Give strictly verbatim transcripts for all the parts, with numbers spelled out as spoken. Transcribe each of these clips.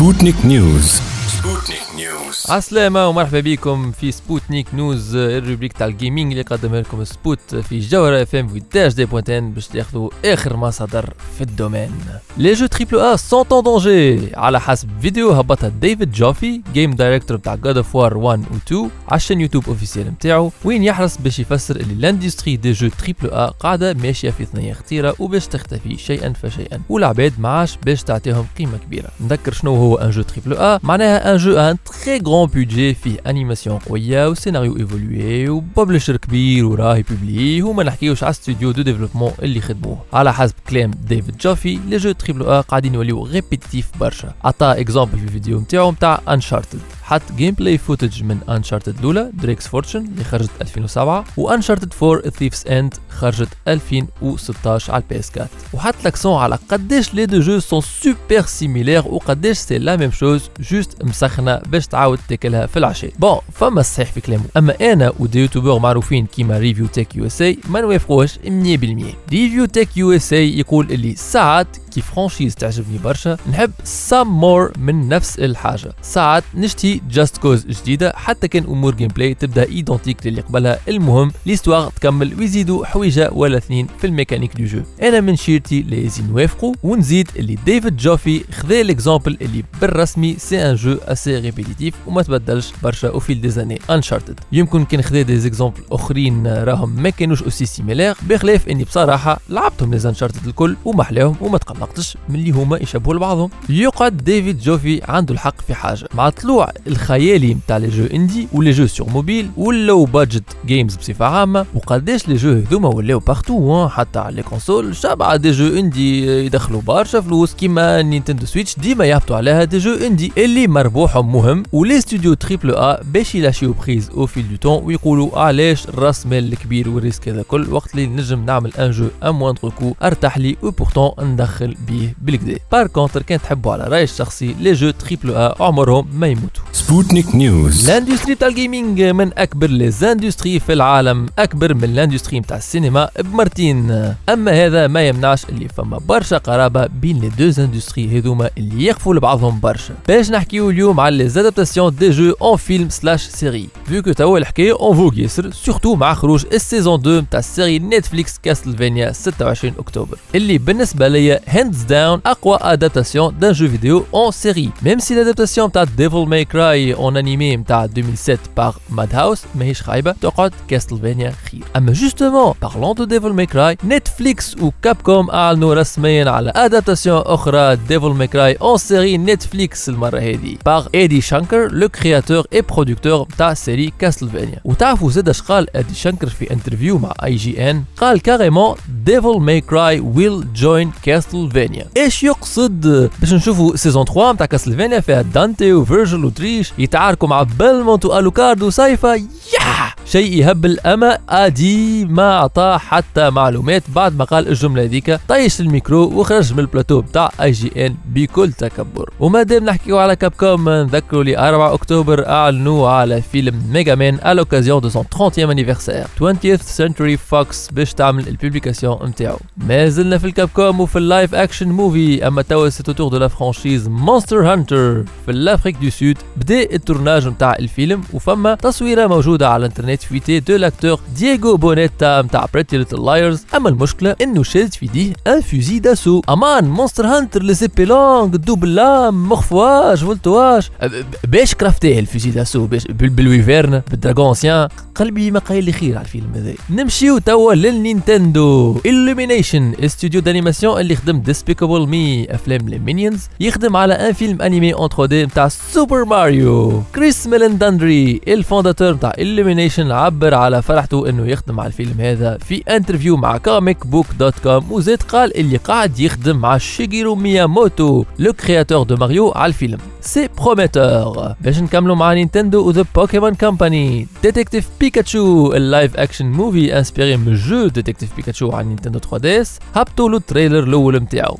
سبوتنيك نيوز. سبوتنيك نيوز. عسلامة ومرحبا بكم في سبوتنيك نيوز، الروبريك تاع الجيمنج اللي قدمها لكم سبوت في جوهرة اف ام في داش دي بوينتين باش تاخذوا اخر ما صدر في الدومين. لي جو تريبل ا سون ان دونجي على حسب فيديو هبطها ديفيد جوفي جيم دايركتور تاع جاد اوف وار واحد و اثنين على الشان يوتيوب اوفيسيال نتاعو، وين يحرص باش يفسر اللي الاندستري دي جو تريبل ا قاعده ماشيه في ثنيه خطيره وباش تختفي شيئا فشيئا، والعباد معاش باش تعطيهم قيمه كبيره. نذكر شنو هو ان جو تريبل ا، معناها ان جو ان تري غران بودجي فيه انيماسيون قويه وسيناريو ايفولوي وببلشر كبير وراهي بوبلي، وما نحكيوش على استوديو دو ديفلوبمون اللي خدموه. على حسب كلام ديفيد جوفي لي جو تريبل ا قاعدين يوليو ريبيتيتيف برشا. عطاه اكزامبل في الفيديو نتاعو نتاع انشارتد، حط جيم بلاي فوتج من انشارتد الاولى دريكس فورتشن اللي خرجت ألفين وسبعة، وانشارتد فور ثيفز اند خرجت ألفين وستطاش على البي اس أربعة، وحط لاكسون على قداش لي دو جو سون سوبر سيميلير وقداش سي لا ميم شوز جوست مسخنه باش تعاود تاكلها في العشاء. بون فما الصحيح في كلامه، اما انا ودي يوتيوبر معروفين كيما ريفيو تك يو اس اي ما نوافقوش مية بالمية. ريفيو تك يو اس اي يقول اللي ساعات كي فرانشيز تعجبني برشا نحب سام مور من نفس الحاجه، ساعات نشتي جاست كوز جديده حتى كان امور جيم بلاي تبدا ايدونتيك للي قبلها، المهم ليستوار تكمل ويزيدوا حويجه ولا اثنين في الميكانيك دو جو. انا من شيرتي لازم نوافقوا ونزيد اللي ديفيد جوفي خذا الاكزامبل اللي بالرسمي سي ان جو اسي ريبيتيتيف وما تبدلش برشا او فيل دي زاني انشارتد. يمكن كان خذا دي زيكزامبل اخرين راهم ما كانوش اوسي سيميلير، بخلاف اني بصراحه لعبتهم لي انشارتد الكل ومحلاهم وما تقلقتش من اللي هما يشبهوا لبعضهم. يقعد ديفيد جوفي عنده الحق في حاجه، مع طلوع الخيالي نتاع لي جو اندي ولي جو سور موبيل واللو بادجت جيمز بصفه عامه، وقداش لي جو هذوما ولاو بارتو حتى على لي كونسول شبعه دي جو اندي يدخلوا برشا فلوس، كيما نينتندو سويتش ديما يهبطوا عليها دي جو اندي اللي مربوحهم مهم، ولي ستوديو تريبل ا باش يلاشيو بريز او فيل دو طون ويقولوا علاش راس مال الكبير والريسك هذا كل وقت اللي نجم نعمل ان جو ا موندر كو ارتاح لي وبورتون ندخل بيه بالكدا. بار كونتر كان تحبوا على رايي الشخصي لي جو تريبل ا عمرهم ما يموتوا. سبوتنيك نيوز. الاندستري تاع الجيمنج من اكبر لي زاندستري في العالم، اكبر من الاندستري نتاع السينما بمرتين، اما هذا ما يمنعش اللي فما برشا قرابه بين لي دو زاندستري هذوما اللي يقفوا لبعضهم برشا. باش نحكيو اليوم على لي زادابتاسيون دي جو اون فيلم سلاش سيري، فيو كو توا الحكايه اون فوغ ياسر سورتو مع خروج السيزون اثنين تاع السيري نتفليكس كاستلفانيا ستة وعشرين اكتوبر، اللي بالنسبه ليا هاندز داون اقوى ادابتاسيون دان جو فيديو اون سيري، ميم سي لادابتاسيون تاع ديفل ماي كراي اون انيمي نتاع ألفين وسبعة باغ ماد هاوس ماهيش خايبه، تقعد كاستلفانيا خير. اما جوستومون بارلون دو ديفل ماي كراي، نتفليكس وكابكوم اعلنوا رسميا على ادابتاسيون اخرى ديفل ماي كراي اون سيري نتفليكس المره هذه باغ ايدي شانكر لو كرياتور اي برودكتور تاع سيري كاستلفانيا. وتعرفوا زاد اش قال ايدي شانكر في انترفيو مع اي جي ان؟ قال كاريمون ديفل ماي كراي ويل جوين كاستلفانيا. ايش يقصد؟ باش نشوفوا سيزون ثلاثة نتاع كاستلفانيا فيها دانتي وفيرجل وتريش يتعاركوا مع بلمونت والوكارد وسايفا، ياه شيء يهبل. اما ادي ما اعطاه حتى معلومات بعد ما قال الجمله هذيك، طيش الميكرو وخرج من البلاتو بتاع اي جي ان بكل تكبر. وما دام نحكيو على كاب كوم، نذكروا لي أربعة اكتوبر اعلنوا على فيلم ميجا مان à l'occasion de son trentième anniversaire twentieth century fox باش تعمل البوبليكاسيون نتاعو. ما زلنا في الكاب كوم وفي اللايف اكشن موفي، اما توا سي توتور دو لا فرانشيز مونستر هانتر في الافريك دو سود. بدا التورناج نتاع الفيلم وفما تصويره موجوده على الانترنت فيتي دو لاكتور دييغو بونيتا نتاع بريتي ليتل لايرز، اما المشكله انه شاد في يديه ان فوزي داسو. امان مونستر هانتر لي سيبي لونغ دوبل لام مخفواج فولتواج، باش كرافتيه الفوزي داسو باش بالويفيرن بالدراغون انسيان. قلبي ما قايل لي خير على الفيلم هذا. نمشيو توا للنينتندو. إلومينيشن استوديو دانيماسيون اللي خدم ديسبيكابل مي افلام لي مينيونز يخدم على ان فيلم انيمي اون ثري دي نتاع سوبر ماريو. كريس ميلنداندري الفونداتور نتاع إلومينيشن عبر على فرحته انه يخدم على الفيلم هذا في انترفيو مع كوميك بوك دوت كوم، وزاد قال اللي قاعد يخدم مع شيجيرو مياموتو لو كرياتور دو ماريو على الفيلم. سي بروميتور. باش نكملوا مع نينتندو وذا بوكيمون كومباني. ديتكتيف بيكاتشو اللايف اكشن موفي انسبيري من جو ديتكتيف بيكاتشو على نينتندو ثري دي اس، هبطوا له التريلر الاول نتاعو.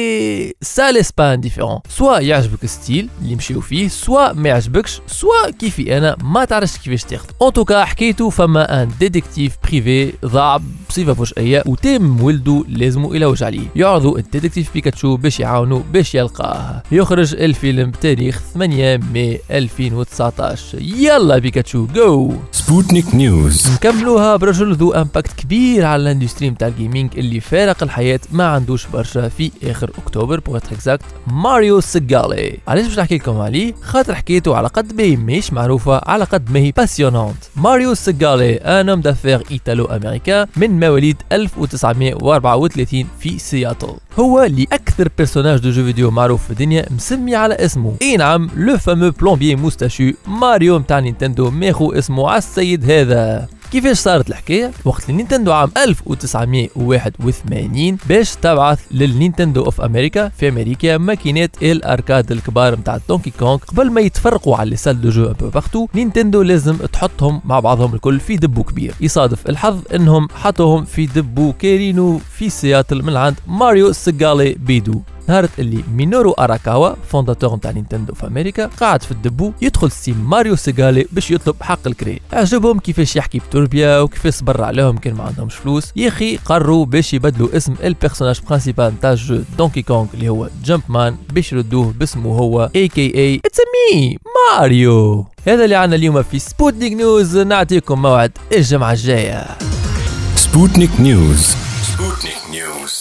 اي سا ليس با انديفيرون، سوا يعجبك الستيل اللي يمشيو فيه، سوا ما يعجبكش، سوا كيفي انا ما تعرفش كيفاش تاخذ. ان توكا حكيتو فما ان ديتكتيف بريفي ضاع بصفة فجائية وتم ولده لازم يلوج عليه. يعرضوا الديتكتيف بيكاتشو باش يعاونوا باش يلقاه. يخرج الفيلم بتاريخ ثمانية ماي ألفين وتسعطاش. يلا بيكاتشو جو. سبوتنيك نيوز. نكملوها برجل ذو امباكت كبير على الاندستري نتاع الجيمنج اللي فارق الحياة ما عندوش برشا في اخر اكتوبر بوغ اكزاكت، ماريو سيغالي. علاش باش نحكي لكم عليه؟ خاطر حكيته على قد ما هي ماهيش معروفة على قد ما هي باسيونونت. ماريو سيغالي ان اوم دافير ايطالو امريكان من مواليد ألف وتسعمائة وأربعة وثلاثين في سياتل. هو اللي اكثر بيرسوناج دو جو فيديو معروف في الدنيا مسمي على اسمه. اي نعم، لو فامو بلومبيي موستاشو ماريو متاع نينتندو ماخو اسمه على السيد هذا. كيفاش صارت الحكايه؟ وقت النينتندو عام ألف وتسعمائة وواحد وثمانين باش تبعث للنينتندو اوف امريكا في امريكا ماكينات الاركاد الكبار نتاع دونكي كونغ، قبل ما يتفرقوا على لي سال دو جو ان بو بارتو، نينتندو لازم تحطهم مع بعضهم الكل في دبو كبير. يصادف الحظ انهم حطوهم في دبو كارينو في سياتل من عند ماريو سيغالي بيدو. نهارت اللي مينورو اراكاوا فونداتور نتاع نينتندو في امريكا قاعد في الدبو يدخل ستيم ماريو سيغالي باش يطلب حق الكري. عجبهم كيفاش يحكي بتربيا وكيفاش صبر عليهم كان ما عندهمش فلوس. يا اخي قرروا باش يبدلوا اسم البيرسوناج برينسيبال نتاع الجو دونكي كونغ اللي هو جامب مان باش يردوه باسمه هو اي كي اي اتس مي ماريو. هذا اللي عنا اليوم في سبوتنيك نيوز. نعطيكم موعد الجمعة الجاية. سبوتنيك نيوز. سبوتنيك نيوز.